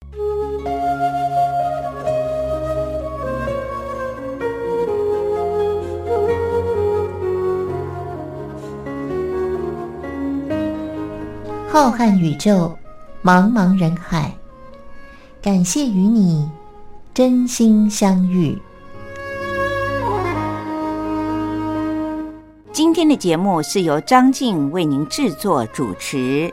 浩瀚宇宙，茫茫人海，感谢与你真心相遇。 今天的节目是由张静为您制作主持。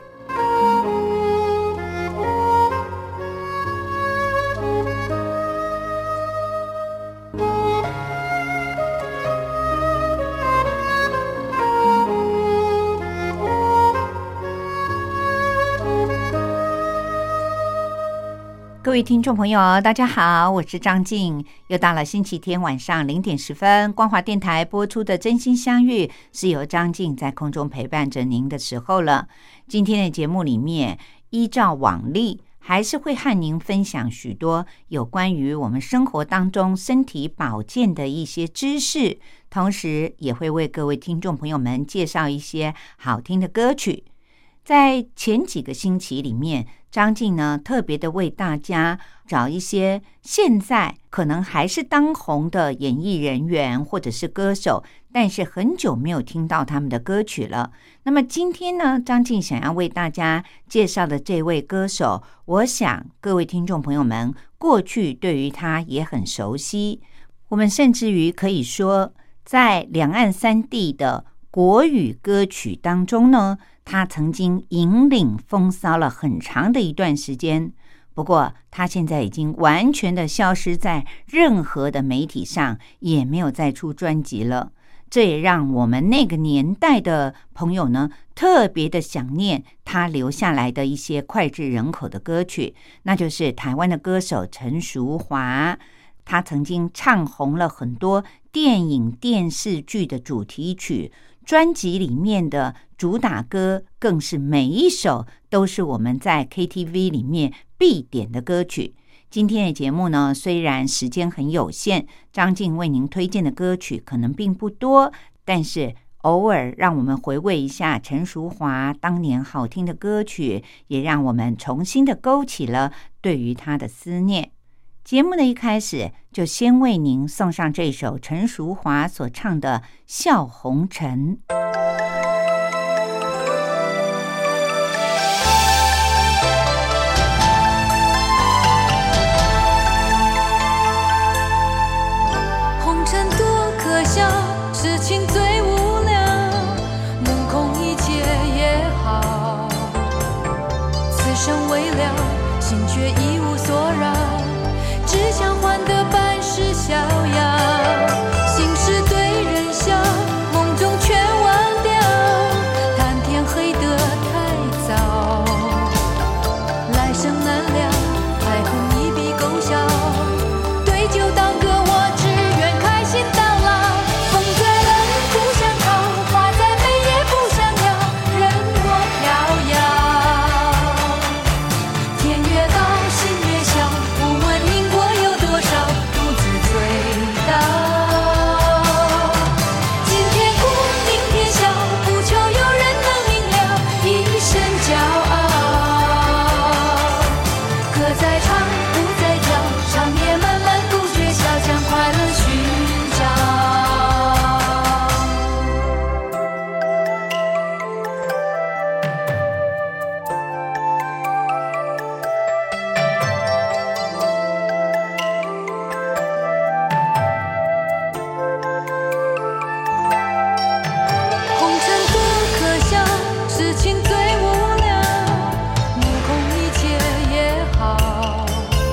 各位听众朋友大家好，我是张静，又到了星期天晚上0点10分光华电台播出的真心相遇，是由张静在空中陪伴着您的时候了。今天的节目里面，依照往例还是会和您分享许多有关于我们生活当中身体保健的一些知识，同时也会为各位听众朋友们介绍一些好听的歌曲。在前几个星期里面，张静呢特别的为大家找一些现在可能还是当红的演艺人员或者是歌手，但是很久没有听到他们的歌曲了。那么今天呢，张静想要为大家介绍的这位歌手，我想各位听众朋友们过去对于他也很熟悉，我们甚至于可以说在两岸三地的国语歌曲当中呢，他曾经引领风骚了很长的一段时间。不过他现在已经完全的消失在任何的媒体上，也没有再出专辑了。这也让我们那个年代的朋友呢特别的想念他留下来的一些脍炙人口的歌曲，那就是台湾的歌手陈淑华。他曾经唱红了很多电影电视剧的主题曲，专辑里面的主打歌更是每一首都是我们在 KTV 里面必点的歌曲。今天的节目呢，虽然时间很有限，张静为您推荐的歌曲可能并不多，但是偶尔让我们回味一下陈淑华当年好听的歌曲，也让我们重新的勾起了对于她的思念。节目的一开始就先为您送上这首陈淑华所唱的《笑红尘》。 红尘多可笑，痴情最无聊，目空一切也好，此生未了，心却一无所扰，只想换得半世逍遥，心事对人笑，梦中全忘掉，谈天黑得太早，来生难料，爱恨一笔勾销，对酒当歌，我只愿开心到老，风在冷不想逃，花在美也不想要，任我飘摇，天越高心越小，不问因果有多少，独自醉倒。今天哭明天笑，不求有人能明了，一身骄傲。歌在唱不在跳，长夜漫漫不觉晓，将快乐寻找。红尘多可笑，痴情最无聊，目空一切也好，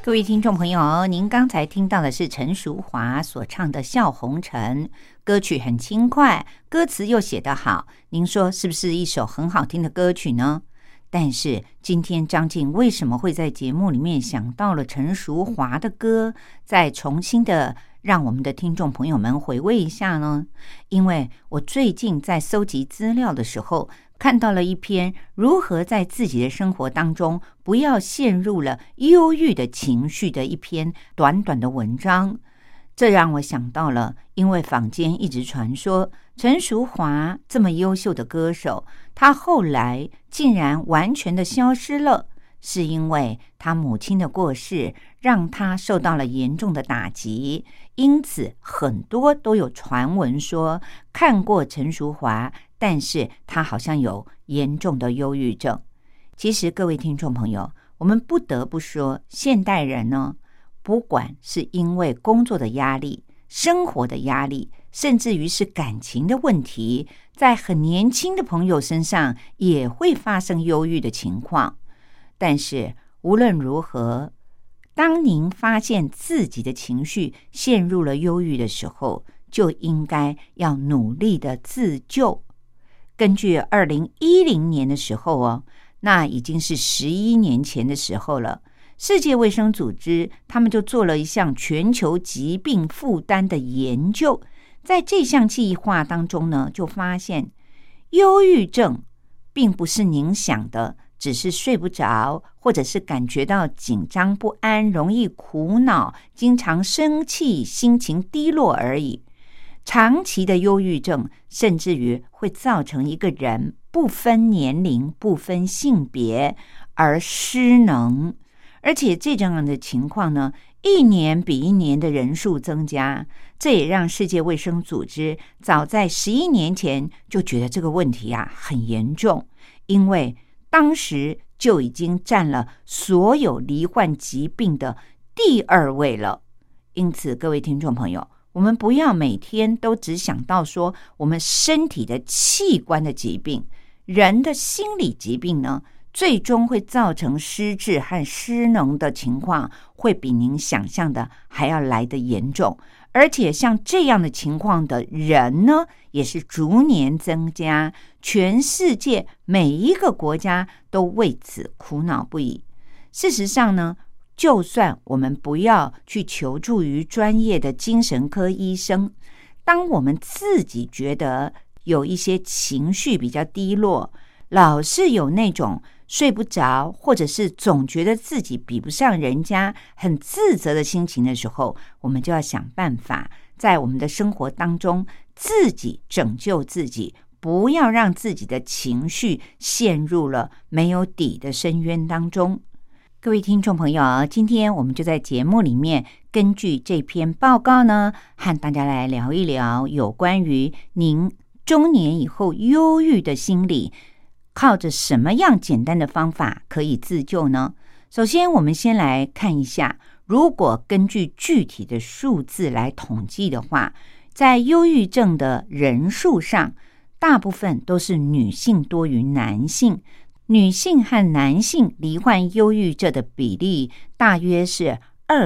各位听众朋友，您刚才听到的是陈淑华所唱的《笑红尘》，歌曲很轻快，歌词又写得好，您说是不是一首很好听的歌曲呢？但是今天张静为什么会在节目里面想到了陈淑华的歌，再重新的让我们的听众朋友们回味一下呢？因为我最近在搜集资料的时候，看到了一篇如何在自己的生活当中不要陷入了忧郁的情绪的一篇短短的文章。这让我想到了，因为坊间一直传说陈淑华这么优秀的歌手，她后来竟然完全的消失了，是因为她母亲的过世让她受到了严重的打击，因此很多都有传闻说看过陈淑华，但是她好像有严重的忧郁症。其实各位听众朋友，我们不得不说，现代人呢，不管是因为工作的压力、生活的压力，甚至于是感情的问题，在很年轻的朋友身上也会发生忧郁的情况。但是无论如何，当您发现自己的情绪陷入了忧郁的时候，就应该要努力的自救。根据2010年的时候那已经是11年前的时候了，世界卫生组织他们就做了一项全球疾病负担的研究，在这项计划当中呢，就发现忧郁症并不是您想的只是睡不着，或者是感觉到紧张不安，容易苦恼，经常生气，心情低落而已。长期的忧郁症甚至于会造成一个人不分年龄、不分性别而失能，而且这样的情况呢，一年比一年的人数增加。这也让世界卫生组织早在11年前就觉得这个问题很严重，因为当时就已经占了所有罹患疾病的第2位了。因此各位听众朋友，我们不要每天都只想到说我们身体的器官的疾病，人的心理疾病呢，最终会造成失智和失能的情况，会比您想象的还要来得严重。而且像这样的情况的人呢，也是逐年增加，全世界每一个国家都为此苦恼不已。事实上呢，就算我们不要去求助于专业的精神科医生，当我们自己觉得有一些情绪比较低落，老是有那种睡不着，或者是总觉得自己比不上人家，很自责的心情的时候，我们就要想办法在我们的生活当中自己拯救自己，不要让自己的情绪陷入了没有底的深渊当中。各位听众朋友，今天我们就在节目里面根据这篇报告呢，和大家来聊一聊有关于您中年以后忧郁的心理，靠着什么样简单的方法可以自救呢？首先我们先来看一下，如果根据具体的数字来统计的话，在忧郁症的人数上，大部分都是女性多于男性，女性和男性罹患忧郁症的比例大约是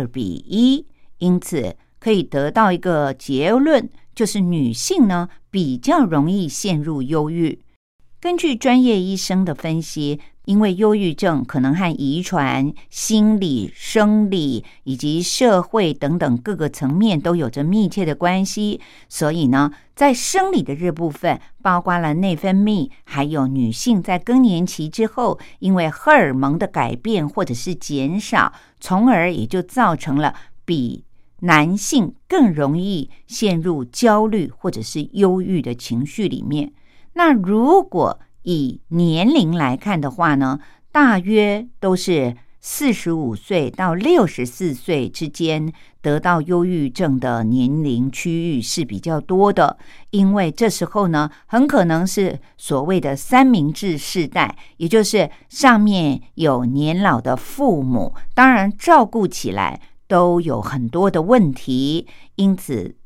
2:1，因此可以得到一个结论，就是女性呢比较容易陷入忧郁。根据专业医生的分析，因为忧郁症可能和遗传、心理、生理以及社会等等各个层面都有着密切的关系，所以呢，在生理的这部分，包括了内分泌，还有女性在更年期之后，因为荷尔蒙的改变或者是减少，从而也就造成了比男性更容易陷入焦虑或者是忧郁的情绪里面。那如果以年龄来看的话呢，大约都是45岁到64岁之间得到忧郁症的年龄区域是比较多的，因为这时候呢，很可能是所谓的三明治世代，也就是上面有年老的父母，当然照顾起来都有很多的问题，因此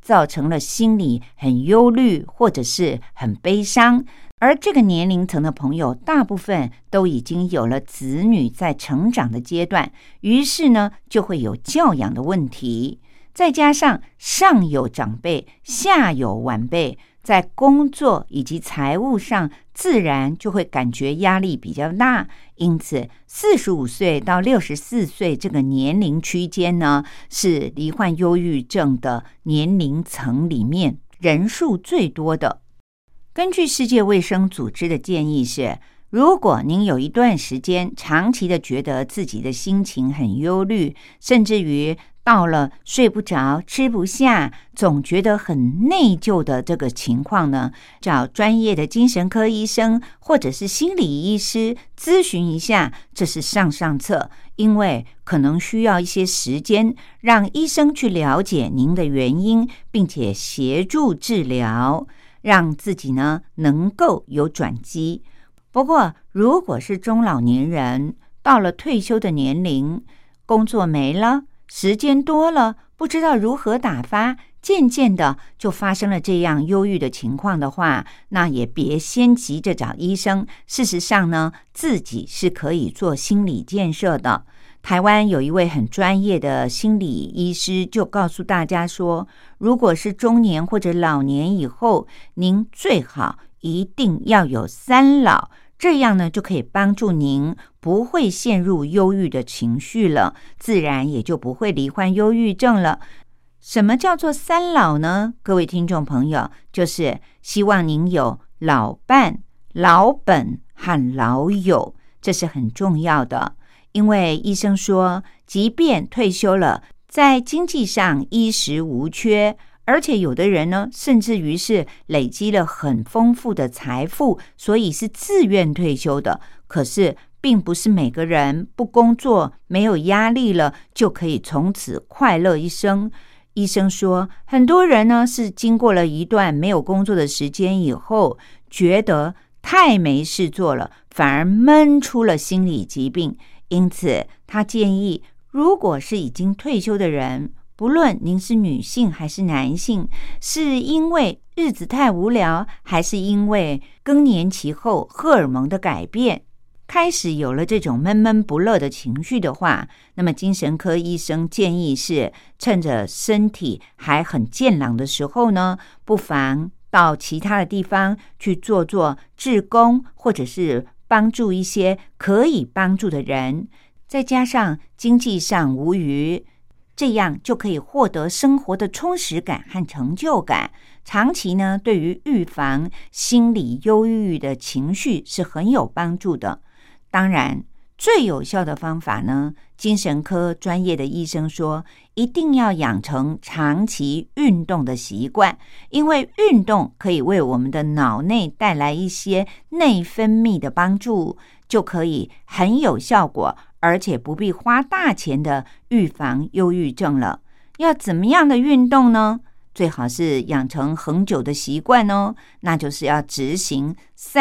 造成了心里很忧虑或者是很悲伤。而这个年龄层的朋友大部分都已经有了子女在成长的阶段，于是呢就会有教养的问题，再加上上有长辈下有晚辈，在工作以及财务上自然就会感觉压力比较大，因此45岁到64岁这个年龄区间呢，是罹患忧郁症的年龄层里面人数最多的。根据世界卫生组织的建议是，如果您有一段时间长期的觉得自己的心情很忧虑，甚至于到了睡不着、吃不下，总觉得很内疚的这个情况呢，找专业的精神科医生或者是心理医师咨询一下，这是上策，因为可能需要一些时间，让医生去了解您的原因，并且协助治疗，让自己呢能够有转机。不过如果是中老年人，到了退休的年龄，工作没了，时间多了，不知道如何打发，渐渐的就发生了这样忧郁的情况的话，那也别先急着找医生。事实上呢，自己是可以做心理建设的。台湾有一位很专业的心理医师就告诉大家说，如果是中年或者老年以后，您最好一定要有3老，这样呢就可以帮助您不会陷入忧郁的情绪了，自然也就不会罹患忧郁症了。什么叫做3老呢？各位听众朋友，就是希望您有老伴、老本和老友，这是很重要的。因为医生说，即便退休了，在经济上衣食无缺，而且有的人呢，甚至于是累积了很丰富的财富，所以是自愿退休的。可是并不是每个人不工作、没有压力了，就可以从此快乐一生。医生说，很多人呢是经过了一段没有工作的时间以后，觉得太没事做了，反而闷出了心理疾病。因此他建议，如果是已经退休的人，不论您是女性还是男性，是因为日子太无聊，还是因为更年期后荷尔蒙的改变，开始有了这种闷闷不乐的情绪的话，那么精神科医生建议是，趁着身体还很健朗的时候呢，不妨到其他的地方去做志工，或者是帮助一些可以帮助的人，再加上经济上无余，这样就可以获得生活的充实感和成就感。长期呢，对于预防心理忧郁的情绪是很有帮助的。当然，最有效的方法呢，精神科专业的医生说，一定要养成长期运动的习惯，因为运动可以为我们的脑内带来一些内分泌的帮助，就可以很有效果，而且不必花大钱的预防忧郁症了。要怎么样的运动呢？最好是养成恒久的习惯哦，那就是要执行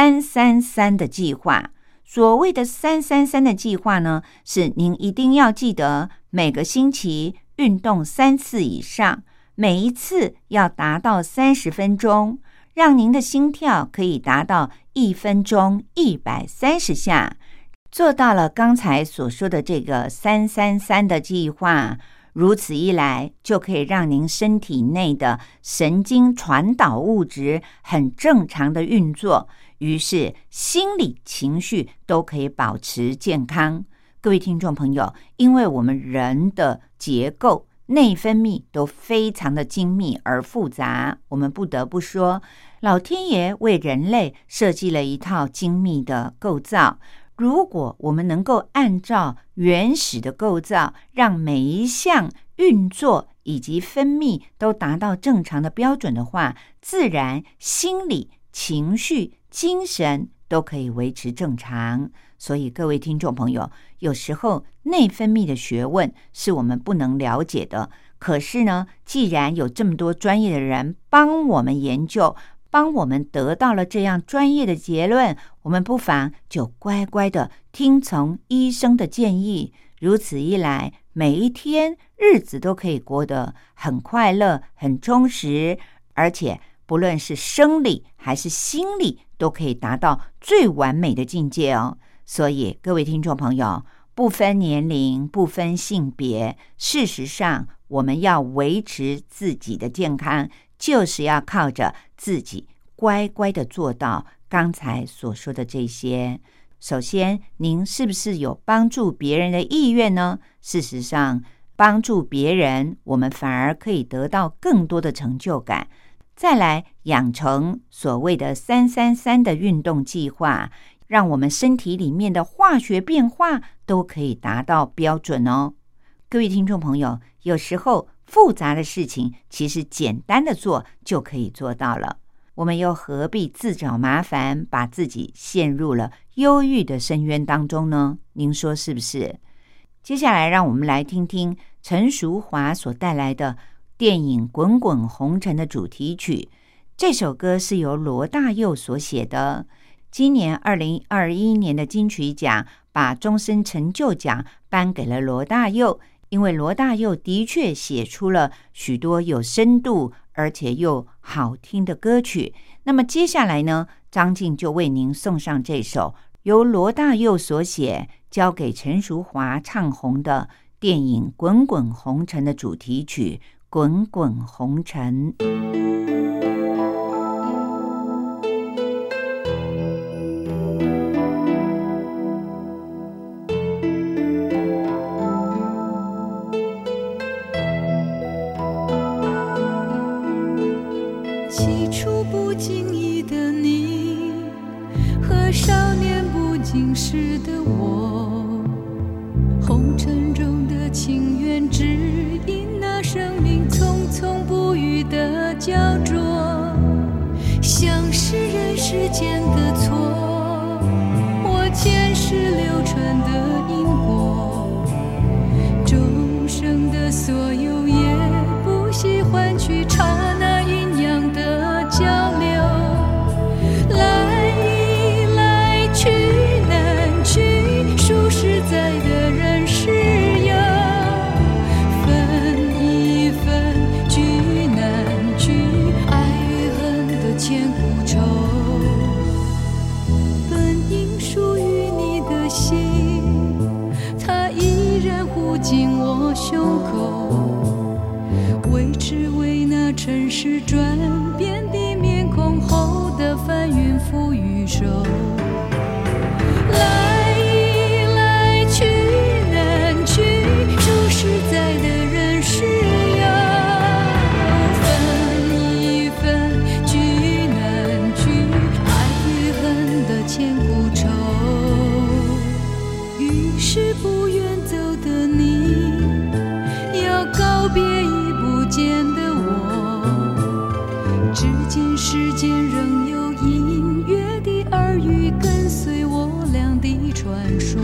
333的计划。所谓的333的计划呢，是您一定要记得每个星期运动3次以上，每一次要达到30分钟，让您的心跳可以达到1分钟130下。做到了刚才所说的这个333的计划，如此一来，就可以让您身体内的神经传导物质很正常的运作，于是心理情绪都可以保持健康。各位听众朋友，因为我们人的结构内分泌都非常的精密而复杂，我们不得不说，老天爷为人类设计了一套精密的构造。如果我们能够按照原始的构造，让每一项运作以及分泌都达到正常的标准的话，自然心理、情绪、精神都可以维持正常。所以各位听众朋友，有时候内分泌的学问是我们不能了解的，可是呢，既然有这么多专业的人帮我们研究，帮我们得到了这样专业的结论，我们不妨就乖乖的听从医生的建议。如此一来， 每一天日子都可以过得很快乐、很充实，而且不论是生理还是心理都可以达到最完美的境界哦。所以各位听众朋友，不分年龄，不分性别，事实上我们要维持自己的健康，就是要靠着自己乖乖的做到刚才所说的这些。首先，您是不是有帮助别人的意愿呢？事实上，帮助别人，我们反而可以得到更多的成就感。再来，养成所谓的333的运动计划，让我们身体里面的化学变化都可以达到标准哦。各位听众朋友，有时候复杂的事情其实简单的做就可以做到了，我们又何必自找麻烦，把自己陷入了忧郁的深渊当中呢？您说是不是？接下来让我们来听听陈淑华所带来的电影《滚滚红尘》的主题曲。这首歌是由罗大佑所写的。今年2021年的金曲奖把终身成就奖颁给了罗大佑，因为罗大佑的确写出了许多有深度而且又好听的歌曲。那么接下来呢，张静就为您送上这首由罗大佑所写，交给陈淑华唱红的电影《滚滚红尘》的主题曲《滚滚红尘》。 起初不经意的你和少年不经事的我，红尘中的情缘只因那生命匆匆不语的焦灼，像是人世间的错，我前世流传的因果，众生的所有也不惜换取刹那阴阳的交流，来一来去难去，数实在的人世有，分一分聚难聚，爱与恨的千古愁，本应属于你的心，它依然护紧我胸口，为只为那尘世转变的面孔后的翻云覆雨手，来一来去难去，数实在的人世有，分一分聚难聚，爱与恨的千古愁，于是不愿走的你，要告别已不见的我，至今世间仍有隐约的耳语跟随我俩的传说。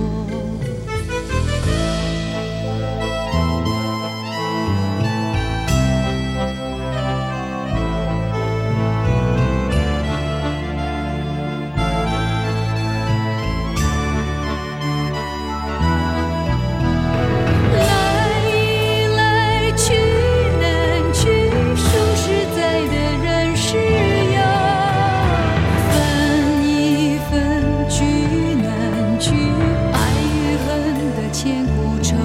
来一来去难去，数实在的人世有，分一分聚难聚，爱与恨的千古愁，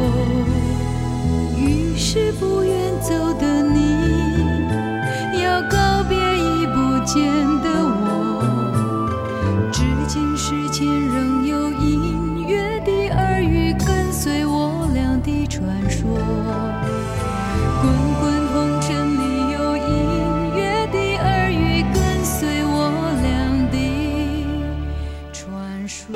于是不愿走的你，要告别已不见的我，至今世间仍有隐约的耳语跟随我俩的传说，滚滚红尘里有隐约的耳语跟随我俩的传说。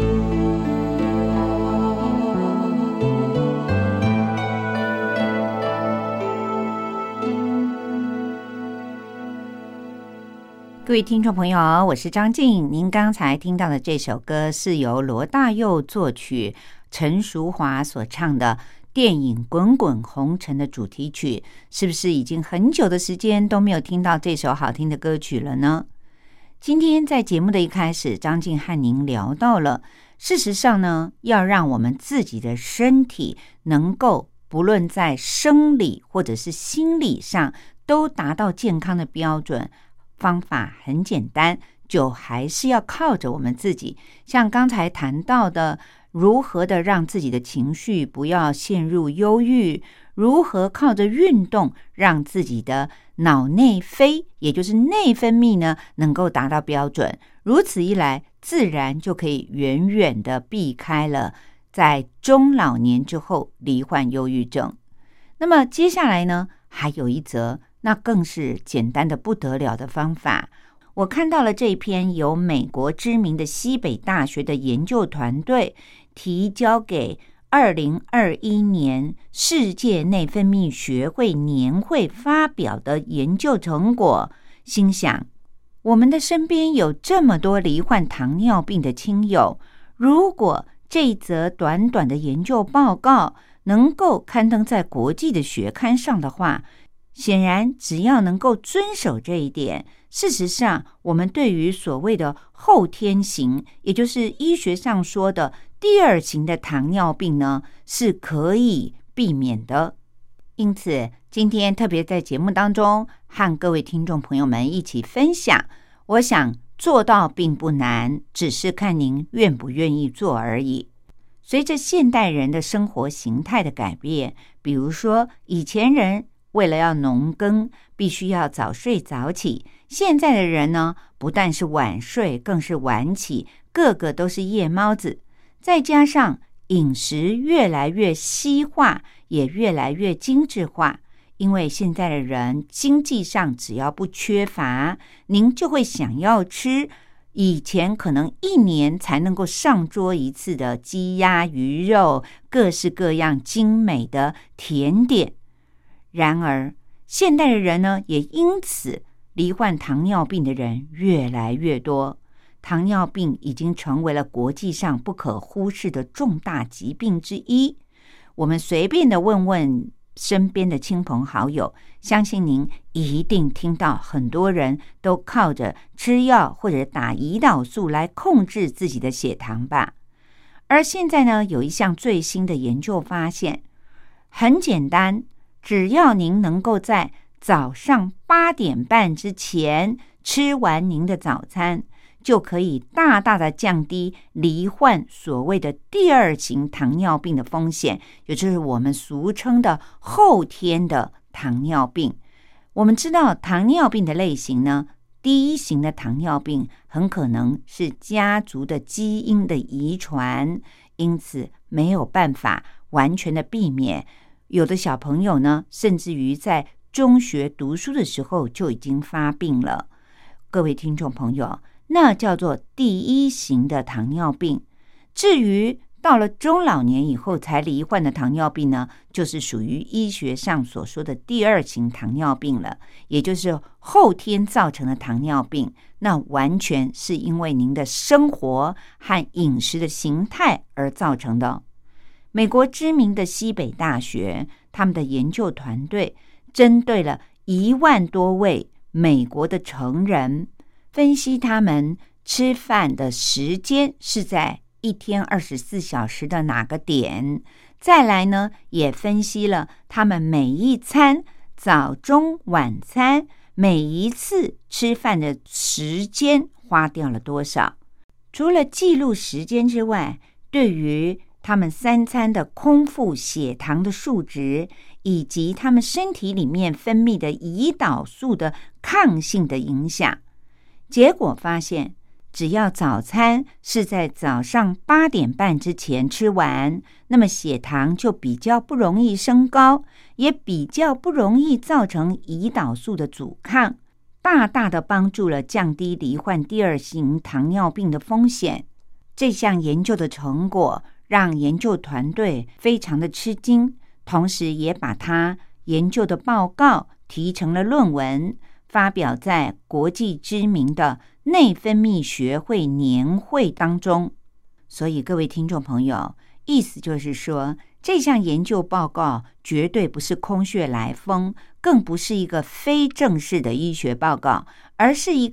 各位听众朋友，我是张静。您刚才听到的这首歌是由罗大佑作曲，陈淑华所唱的电影《滚滚红尘》的主题曲。是不是已经很久的时间都没有听到这首好听的歌曲了呢？今天在节目的一开始，张静和您聊到了，事实上呢，要让我们自己的身体能够不论在生理或者是心理上都达到健康的标准，方法很简单，就还是要靠着我们自己。像刚才谈到的，如何的让自己的情绪不要陷入忧郁，如何靠着运动让自己的脑内啡，也就是内分泌呢，能够达到标准。如此一来，自然就可以远远的避开了在中老年之后罹患忧郁症。那么接下来呢，还有一则，那更是简单的不得了的方法。我看到了这一篇由美国知名的西北大学的研究团队提交给2021年世界内分泌学会年会发表的研究成果，心想，我们的身边有这么多罹患糖尿病的亲友，如果这一则短短的研究报告能够刊登在国际的学刊上的话，显然只要能够遵守这一点，事实上我们对于所谓的后天型，也就是医学上说的第二型的糖尿病呢，是可以避免的。因此今天特别在节目当中和各位听众朋友们一起分享，我想做到并不难，只是看您愿不愿意做而已。随着现代人的生活形态的改变，比如说以前人为了要农耕必须要早睡早起，现在的人呢，不但是晚睡，更是晚起，个个都是夜猫子。再加上饮食越来越西化，也越来越精致化，因为现在的人经济上只要不缺乏，您就会想要吃以前可能1年才能够上桌一次的鸡鸭鱼肉，各式各样精美的甜点。然而现代的人呢，也因此罹患糖尿病的人越来越多，糖尿病已经成为了国际上不可忽视的重大疾病之一。我们随便的问问身边的亲朋好友，相信您一定听到很多人都靠着吃药或者打胰岛素来控制自己的血糖吧。而现在呢，有一项最新的研究发现，很简单，只要您能够在早上8点半之前吃完您的早餐，就可以大大的降低罹患所谓的第二型糖尿病的风险，也就是我们俗称的后天的糖尿病。我们知道糖尿病的类型呢，第一型的糖尿病很可能是家族的基因的遗传，因此没有办法完全的避免。有的小朋友呢，甚至于在中学读书的时候就已经发病了。各位听众朋友，那叫做第一型的糖尿病。至于到了中老年以后才罹患的糖尿病呢，就是属于医学上所说的第二型糖尿病了，也就是后天造成的糖尿病。那完全是因为您的生活和饮食的形态而造成的。美国知名的西北大学，他们的研究团队针对了1万多位美国的成人，分析他们吃饭的时间是在1天24小时的哪个点，再来呢，也分析了他们每一餐早中晚餐每一次吃饭的时间花掉了多少。除了记录时间之外，对于他们3餐的空腹血糖的数值，以及他们身体里面分泌的胰岛素的抗性的影响，结果发现，只要早餐是在早上8点半之前吃完，那么血糖就比较不容易升高，也比较不容易造成胰岛素的阻抗，大大的帮助了降低罹患第二型糖尿病的风险。这项研究的成果让研究团队非常的吃惊，同时也把他研究的报告提成了论文，发表在国际知名的内分泌学会年会当中。所以各位听众朋友，意思就是说，这项研究报告绝对不是空穴来风，更不是一个非正式的医学报告，而是一个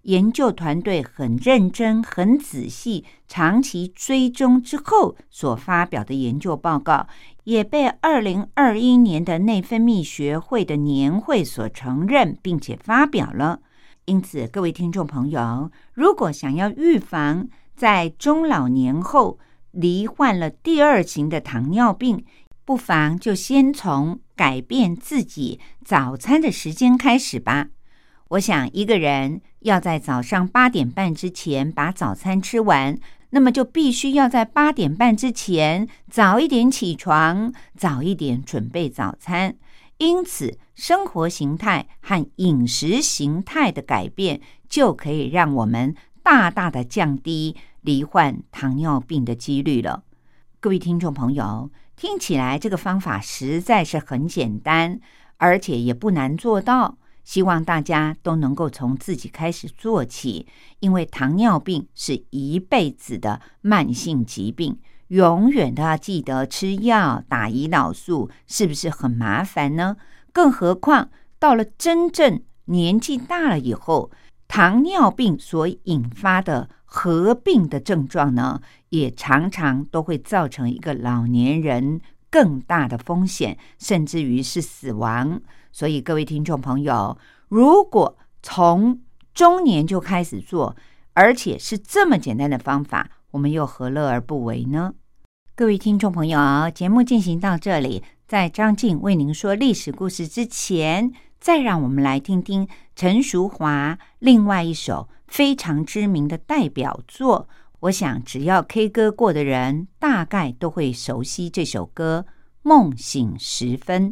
研究团队很认真、很仔细、长期追踪之后所发表的研究报告，也被2021年的内分泌学会的年会所承认，并且发表了。因此，各位听众朋友，如果想要预防在中老年后罹患了第2型的糖尿病，不妨就先从改变自己早餐的时间开始吧。我想一个人要在早上8点半之前把早餐吃完，那么就必须要在8点半之前早一点起床，早一点准备早餐。因此，生活形态和饮食形态的改变就可以让我们大大的降低罹患糖尿病的几率了。各位听众朋友，听起来这个方法实在是很简单，而且也不难做到。希望大家都能够从自己开始做起，因为糖尿病是一辈子的慢性疾病，永远都要记得吃药、打胰岛素，是不是很麻烦呢？更何况到了真正年纪大了以后，糖尿病所引发的合并的症状呢，也常常都会造成一个老年人更大的风险，甚至于是死亡。所以各位听众朋友，如果从中年就开始做，而且是这么简单的方法，我们又何乐而不为呢？各位听众朋友，节目进行到这里，在张静为您说历史故事之前，再让我们来听听陈淑华另外一首非常知名的代表作。我想只要 K 歌过的人大概都会熟悉这首歌《梦醒时分》。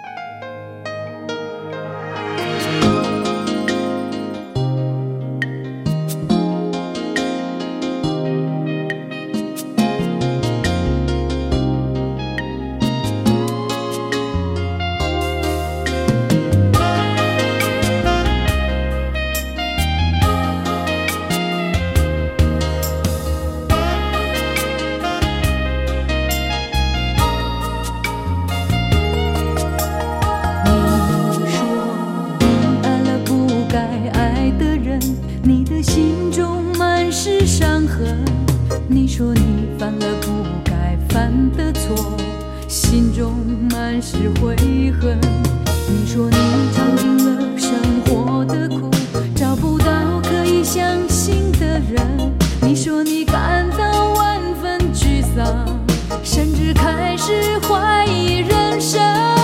你说你犯了不该犯的错，心中满是悔恨。你说你尝尽了生活的苦，找不到可以相信的人。你说你感到万分沮丧，甚至开始怀疑人生。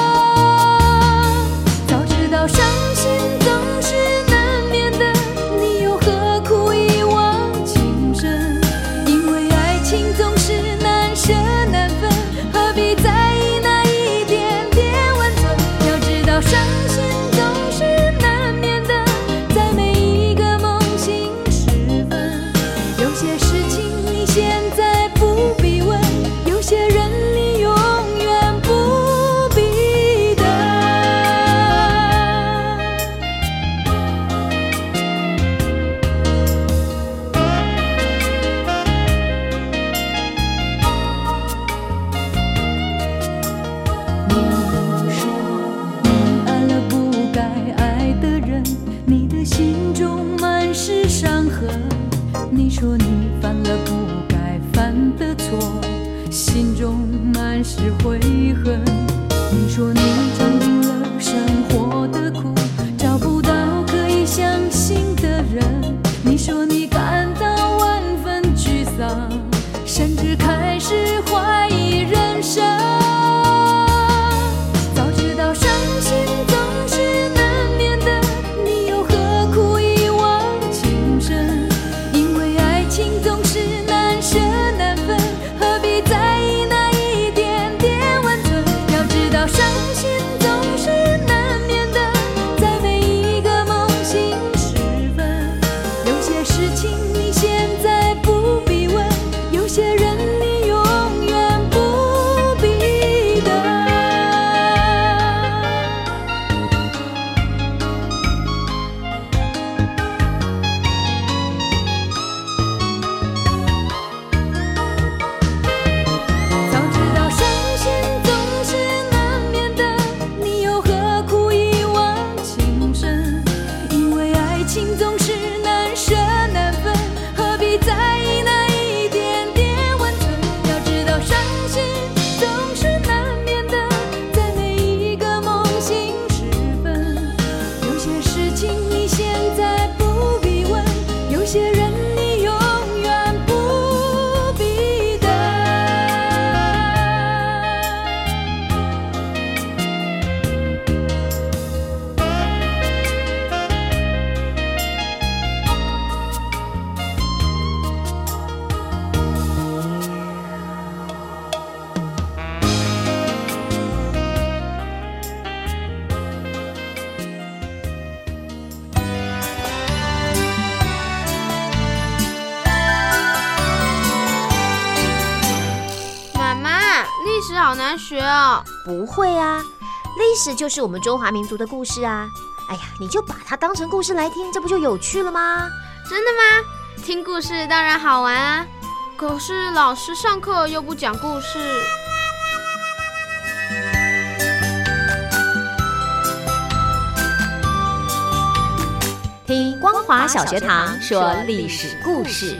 早知道伤心总是难免的，你又何苦一往情深？总是难舍难分，何必在意那一点点温存？要知道伤心总是难免的，在每一个梦醒时分。有些事情你现在不必问，有些人你永远不必等。你说你犯了不该犯的错，心中满是悔恨。你说你尝尽了生活的苦，找不到可以相信的人。你说你感到万分沮丧，甚至开始怀疑人生。早知道伤心总是难免的，你又何苦一往情深？情总是难舍难分，何必在意那一点点温存？要知道伤心难学啊。 不会啊，历史就是我们中华民族的故事啊。哎呀，你就把它当成故事来听，这不就有趣了吗？ 真的吗？听故事当然好玩啊，可是老师上课又不讲故事。 听光华小学堂说历史故事。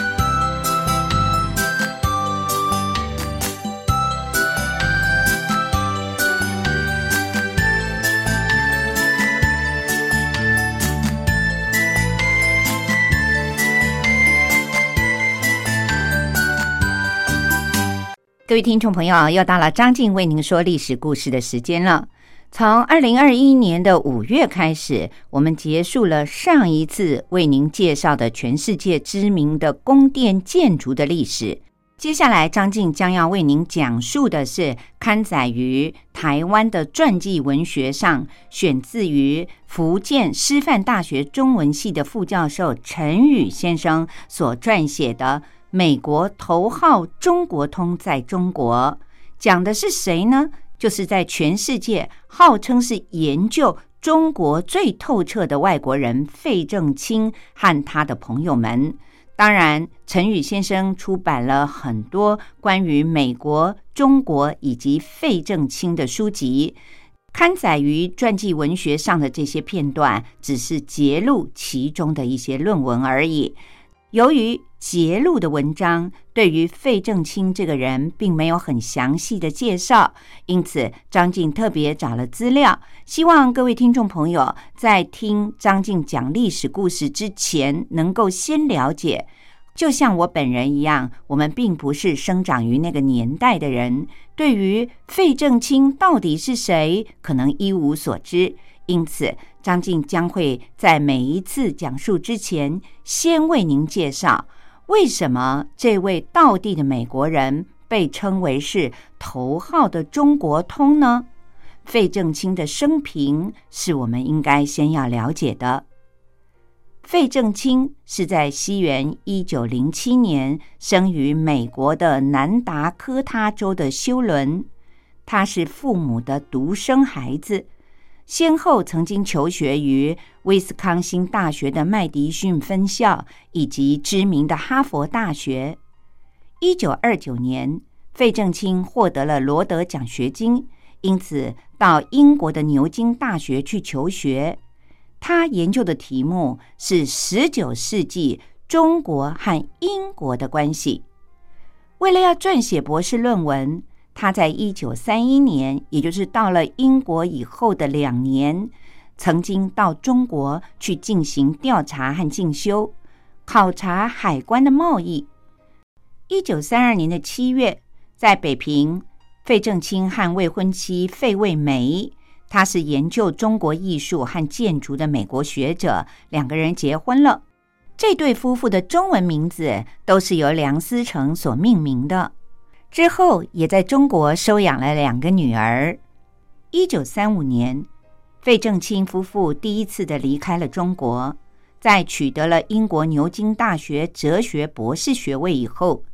各位听众朋友，又到了张静为您说历史故事的时间了。从2021年的5月开始，我们结束了上一次为您介绍的全世界知名的宫殿建筑的历史。接下来张静将要为您讲述的是刊载于台湾的传记文学上，选自于福建师范大学中文系的副教授陈宇先生所撰写的美国头号中国通在中国。讲的是谁呢？就是在全世界号称是研究中国最透彻的外国人费正清和他的朋友们。当然，陈宇先生出版了很多关于美国、中国以及费正清的书籍，刊载于传记文学上的这些片段只是节录其中的一些论文而已。由于节录的文章对于费正清这个人并没有很详细的介绍，因此张静特别找了资料，希望各位听众朋友在听张静讲历史故事之前能够先了解。就像我本人一样，我们并不是生长于那个年代的人，对于费正清到底是谁可能一无所知，因此张静将会在每一次讲述之前先为您介绍为什么这位道地的美国人被称为是头号的中国通呢？费正清的生平是我们应该先要了解的。费正清是在西元1907年生于美国的南达科他州的休伦，他是父母的独生孩子，先后曾经求学于威斯康星大学的麦迪逊分校以及知名的哈佛大学。1929年，费正清获得了罗德奖学金，因此到英国的牛津大学去求学。他研究的题目是19世纪中国和英国的关系。为了要撰写博士论文，他在1931年，也就是到了英国以后的2年，曾经到中国去进行调查和进修，考察海关的贸易。1932年的7月，在北平，费正清和未婚妻费慰梅，他是研究中国艺术和建筑的美国学者，两个人结婚了。这对夫妇的中文名字都是由梁思成所命名的。之后也在中国收养了2个女儿。1935年，费正清夫妇第一次的离开了中国，在取得了英国牛津大学哲学博士学位以后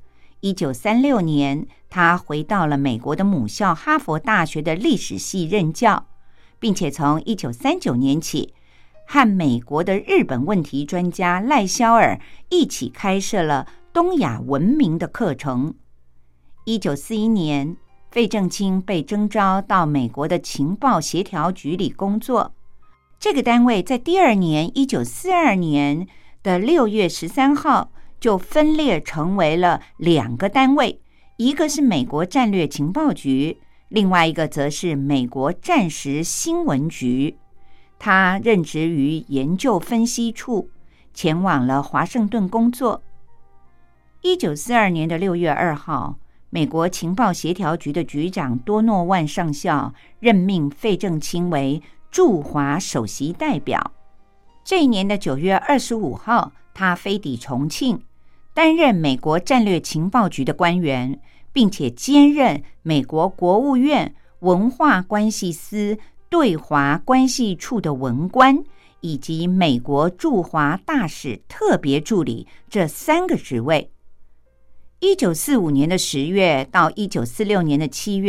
，1936年他回到了美国的母校哈佛大学的历史系任教，并且从1939年起和美国的日本问题专家赖肖尔一起开设了东亚文明的课程。1941年，费正清被征召到美国的情报协调局里工作。这个单位在第2年1942年的6月13号就分裂成为了2个单位，一个是美国战略情报局，另外一个则是美国战时新闻局。他任职于研究分析处，前往了华盛顿工作。1942年的6月2号，美国情报协调局的局长多诺万上校任命费正清为驻华首席代表。这一年的9月25号，他飞抵重庆，担任美国战略情报局的官员，并且兼任美国国务院文化关系司对华关系处的文官，以及美国驻华大使特别助理这3个职位。1945年的10月到1946年的7月，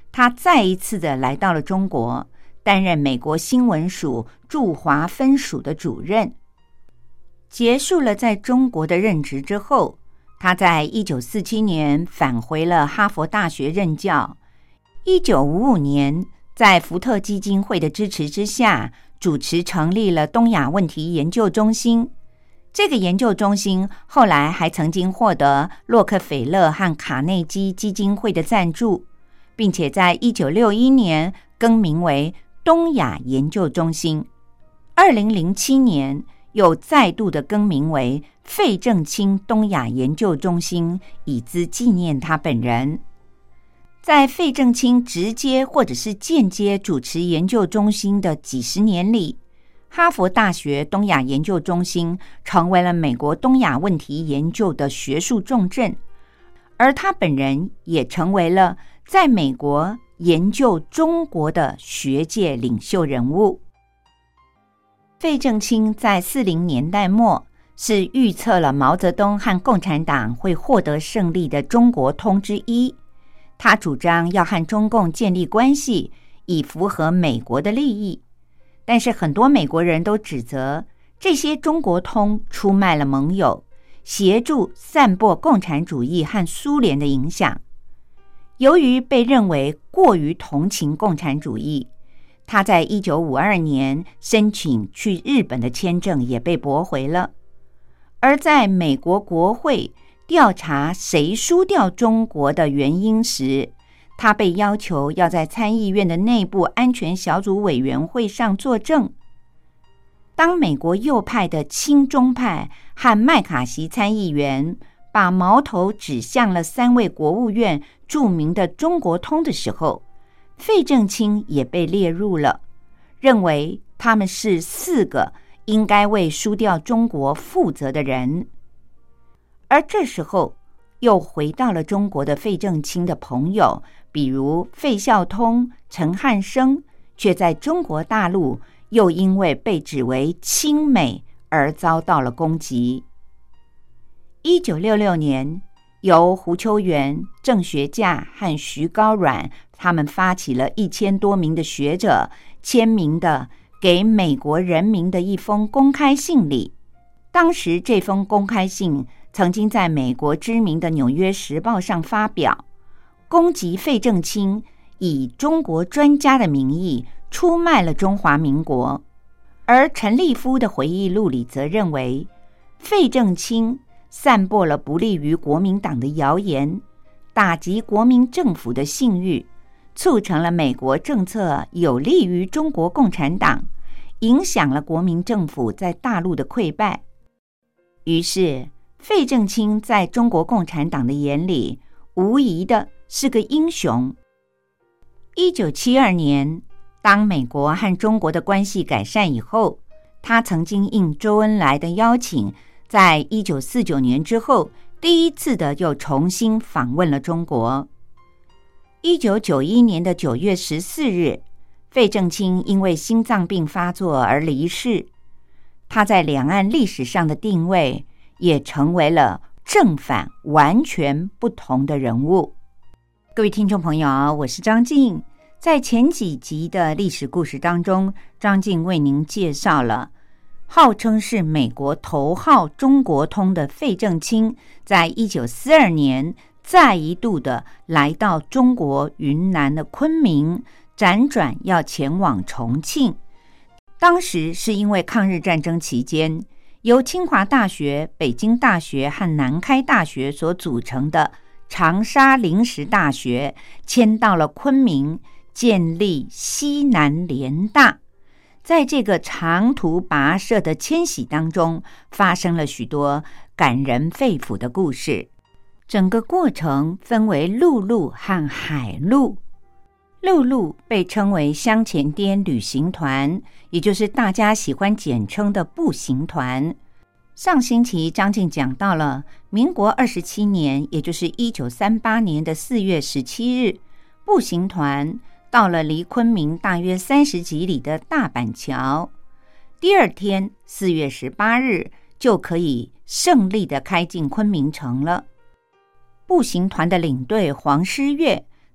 他再一次的来到了中国，担任美国新闻署驻华分署的主任。结束了在中国的任职之后，他在1947年返回了哈佛大学任教。1955年，在福特基金会的支持之下，主持成立了东亚问题研究中心。这个研究中心后来还曾经获得洛克菲勒和卡内基基金会的赞助，并且在1961年更名为东亚研究中心。2007年又再度的更名为费正清东亚研究中心，以资纪念他本人。在费正清直接或者是间接主持研究中心的几十年里，哈佛大学东亚研究中心成为了美国东亚问题研究的学术重镇，而他本人也成为了在美国研究中国的学界领袖人物。费正清在40年代末是预测了毛泽东和共产党会获得胜利的中国通之一。他主张要和中共建立关系，以符合美国的利益。但是很多美国人都指责这些中国通出卖了盟友，协助散播共产主义和苏联的影响。由于被认为过于同情共产主义，他在1952年申请去日本的签证也被驳回了。而在美国国会调查谁输掉中国的原因时，他被要求要在参议院的内部安全小组委员会上作证。当美国右派的亲中派和麦卡锡参议员把矛头指向了3位国务院著名的中国通的时候，费正清也被列入了，认为他们是4个应该为输掉中国负责的人。而这时候又回到了中国的费正清的朋友，比如费孝通、陈汉生，却在中国大陆又因为被指为亲美而遭到了攻击。1966年，由胡秋原、郑学稼和徐高阮他们发起了1000多名的学者签名的给美国人民的一封公开信里。当时这封公开信曾经在美国知名的《纽约时报》上发表，攻击费正清以中国专家的名义出卖了中华民国。而陈立夫的回忆录里则认为，费正清散播了不利于国民党的谣言，打击国民政府的信誉，促成了美国政策有利于中国共产党，影响了国民政府在大陆的溃败。于是费正清在中国共产党的眼里无疑的是个英雄。1972年，当美国和中国的关系改善以后，他曾经应周恩来的邀请，在1949年之后第一次的又重新访问了中国。1991年的9月14日，费正清因为心脏病发作而离世。他在两岸历史上的定位也成为了正反完全不同的人物。各位听众朋友，我是张静。在前几集的历史故事当中，张静为您介绍了号称是美国头号中国通的费正清，在1942年再一度的来到中国云南的昆明，辗转要前往重庆。当时是因为抗日战争期间，由清华大学、北京大学和南开大学所组成的长沙临时大学迁到了昆明，建立西南联大。在这个长途跋涉的迁徙当中，发生了许多感人肺腑的故事。整个过程分为陆路和海路。陆路被称为香前滇旅行团，也就是大家喜欢简称的步行团。上星期张静讲到了民国27年，也就是1938年的4月17日，步行团到了离昆明大约30几里的大板桥。第二天4月18日就可以胜利地开进昆明城了。步行团的领队黄诗月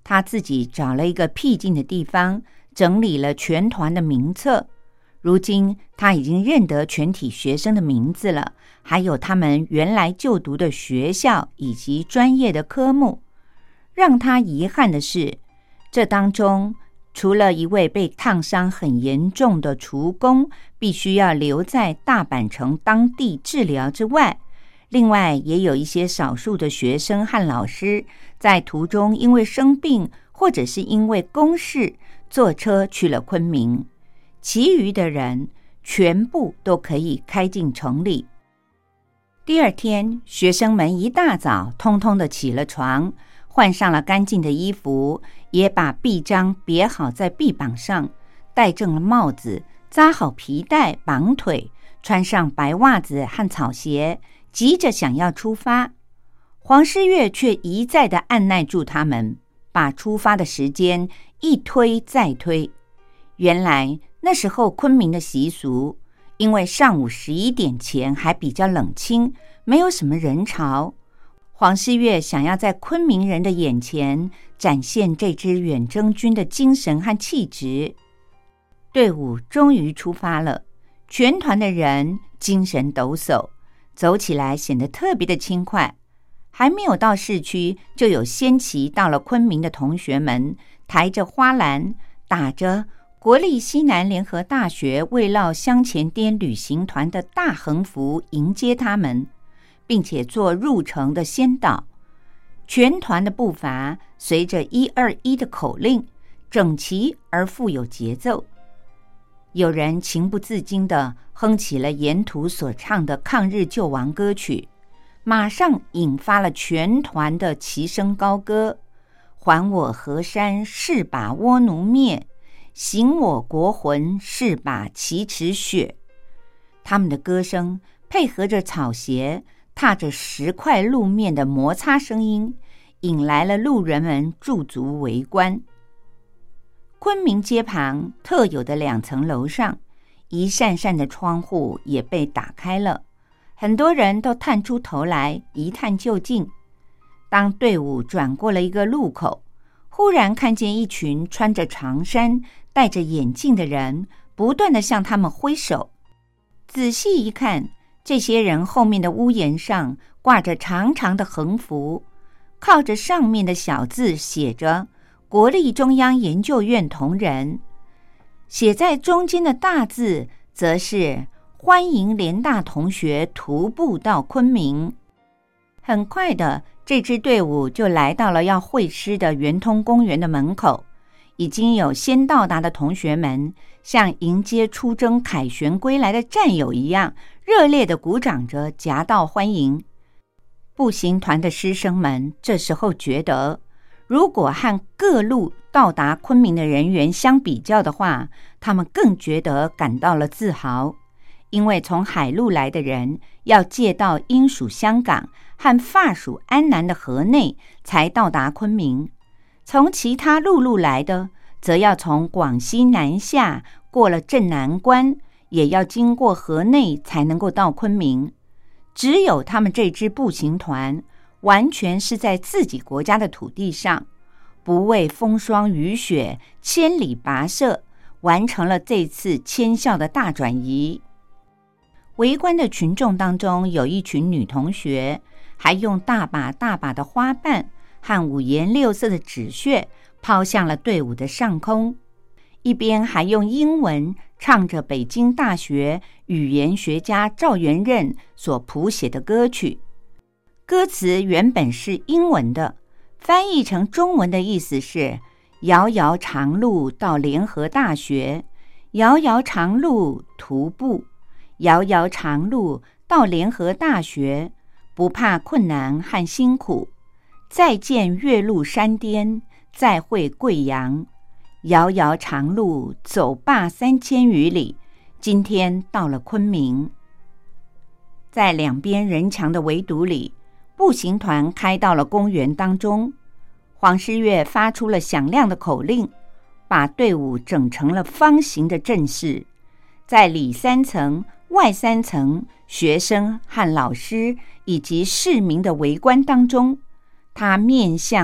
他自己找了一个僻静的地方，整理了全团的名册。如今他已经认得全体学生的名字了，还有他们原来就读的学校以及专业的科目。让他遗憾的是，这当中除了一位被烫伤很严重的厨工必须要留在大阪城当地治疗之外，另外也有一些少数的学生和老师在途中因为生病或者是因为公事坐车去了昆明，其余的人全部都可以开进城里。第二天，学生们一大早通通的起了床，换上了干净的衣服，也把臂章别好在臂膀上，戴正了帽子，扎好皮带绑腿，穿上白袜子和草鞋，急着想要出发。黄诗月却一再的按捺住他们，把出发的时间一推再推。原来那时候昆明的习俗，因为上午11点前还比较冷清，没有什么人潮。黄诗月想要在昆明人的眼前展现这支远征军的精神和气质。队伍终于出发了，全团的人精神抖擞，走起来显得特别的轻快。还没有到市区，就有先期到了昆明的同学们抬着花篮，打着国立西南联合大学慰劳乡前滇旅行团的大横幅迎接他们，并且做入城的先导。全团的步伐随着121的口令，整齐而富有节奏。有人情不自禁地哼起了沿途所唱的抗日救亡歌曲，马上引发了全团的齐声高歌：还我河山，誓把倭奴灭；行我国魂，誓把奇耻雪。他们的歌声配合着草鞋踏着石块路面的摩擦声音，引来了路人们驻足围观。昆明街旁特有的2层楼上，一扇扇的窗户也被打开了，很多人都探出头来一探究竟。当队伍转过了一个路口，忽然看见一群穿着长衫戴着眼镜的人不断地向他们挥手。仔细一看，这些人后面的屋檐上挂着长长的横幅，靠着上面的小字写着国立中央研究院同仁，写在中间的大字则是欢迎联大同学徒步到昆明。很快的，这支队伍就来到了要会师的圆通公园的门口，已经有先到达的同学们像迎接出征凯旋归来的战友一样，热烈地鼓掌着夹道欢迎。步行团的师生们这时候觉得，如果和各路到达昆明的人员相比较的话，他们更觉得感到了自豪。因为从海路来的人要借到英属香港和法属安南的河内才到达昆明，从其他陆路来的则要从广西南下，过了镇南关，也要经过河内才能够到昆明。只有他们这支步行团完全是在自己国家的土地上，不畏风霜雨雪，千里跋涉，完成了这次迁校的大转移。围观的群众当中，有一群女同学，还用大把大把的花瓣和五颜六色的纸屑抛向了队伍的上空，一边还用英文唱着北京大学语言学家赵元任所谱写的歌曲。歌词原本是英文的，翻译成中文的意思是：遥遥长路到联合大学，遥遥长路徒步，遥遥长路到联合大学，不怕困难和辛苦，再见岳麓山巅，再会贵阳，遥遥长路走罢3000余里，今天到了昆明。在两边人墙的围堵里，步行团开到了公园当中。黄诗月发出了响亮的口令，把队伍整成了方形的阵势。在里3层外3层学生和老师以及市民的围观当中，他面向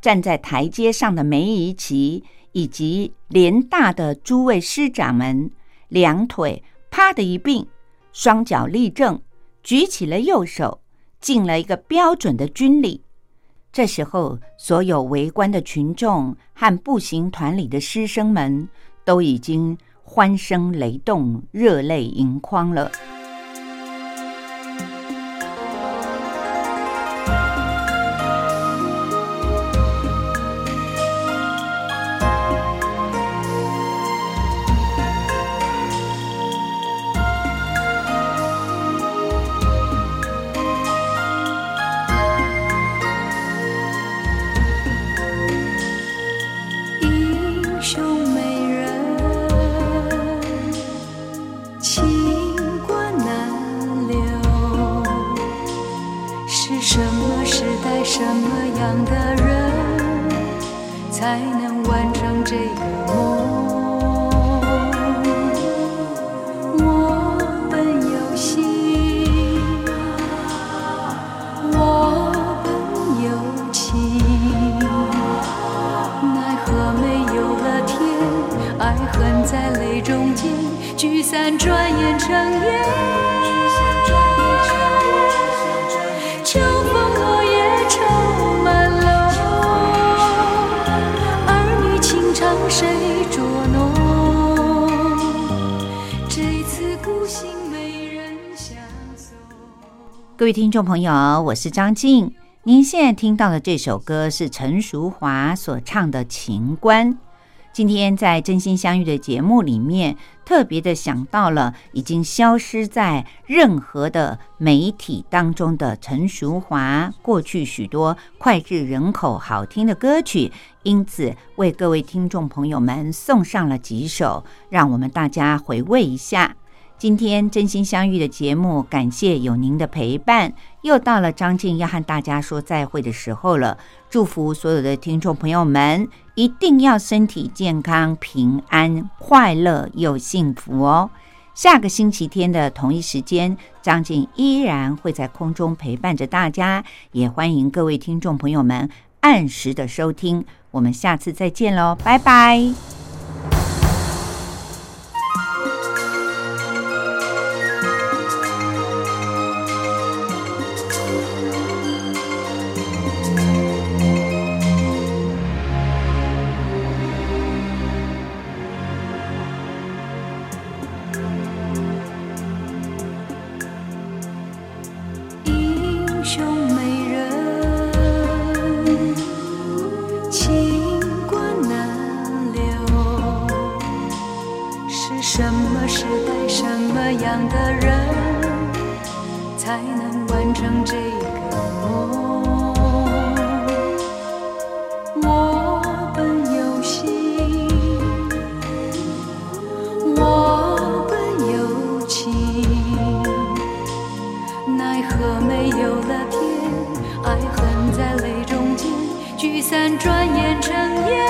站在台阶上的梅贻琦以及联大的诸位师长们，两腿啪的一并，双脚立正，举起了右手，尽了一个标准的军礼。这时候，所有围观的群众和步行团里的师生们都已经欢声雷动，热泪盈眶了。 什么样的人才能完成这个梦？我本有心，我本有情，奈何没有了天，爱恨在泪中间，聚散转眼成烟。秋风落叶愁满楼，儿女情长谁捉弄？这次孤行没人相送。 各位听众朋友，我是张静。您现在听到的这首歌是陈淑华所唱的《情关》。今天在真心相遇的节目里面，特别的想到了已经消失在任何的媒体当中的陈淑华过去许多脍炙人口好听的歌曲，因此为各位听众朋友们送上了几首，让我们大家回味一下。今天真心相遇的节目，感谢有您的陪伴，又到了张静要和大家说再会的时候了。祝福所有的听众朋友们一定要身体健康、平安、快乐又幸福哦。下个星期天的同一时间，张静依然会在空中陪伴着大家，也欢迎各位听众朋友们按时的收听。我们下次再见喽，拜拜。 什么时代，什么样的人才能完成这个梦？我本有心，我本有情，奈何没有了天，爱恨在泪中间，聚散转眼成烟。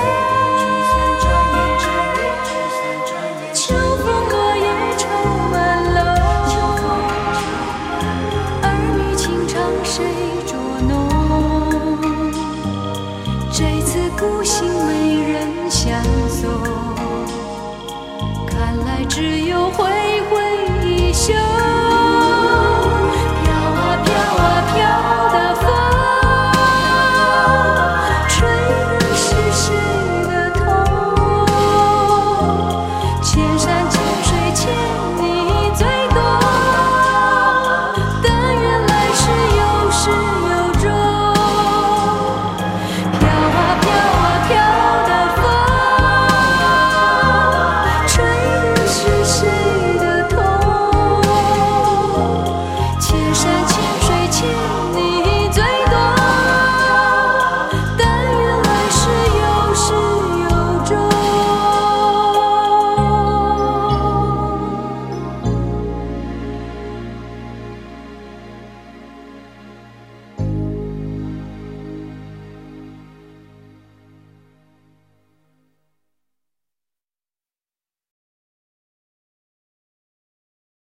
秋风落叶愁满楼，儿女情长谁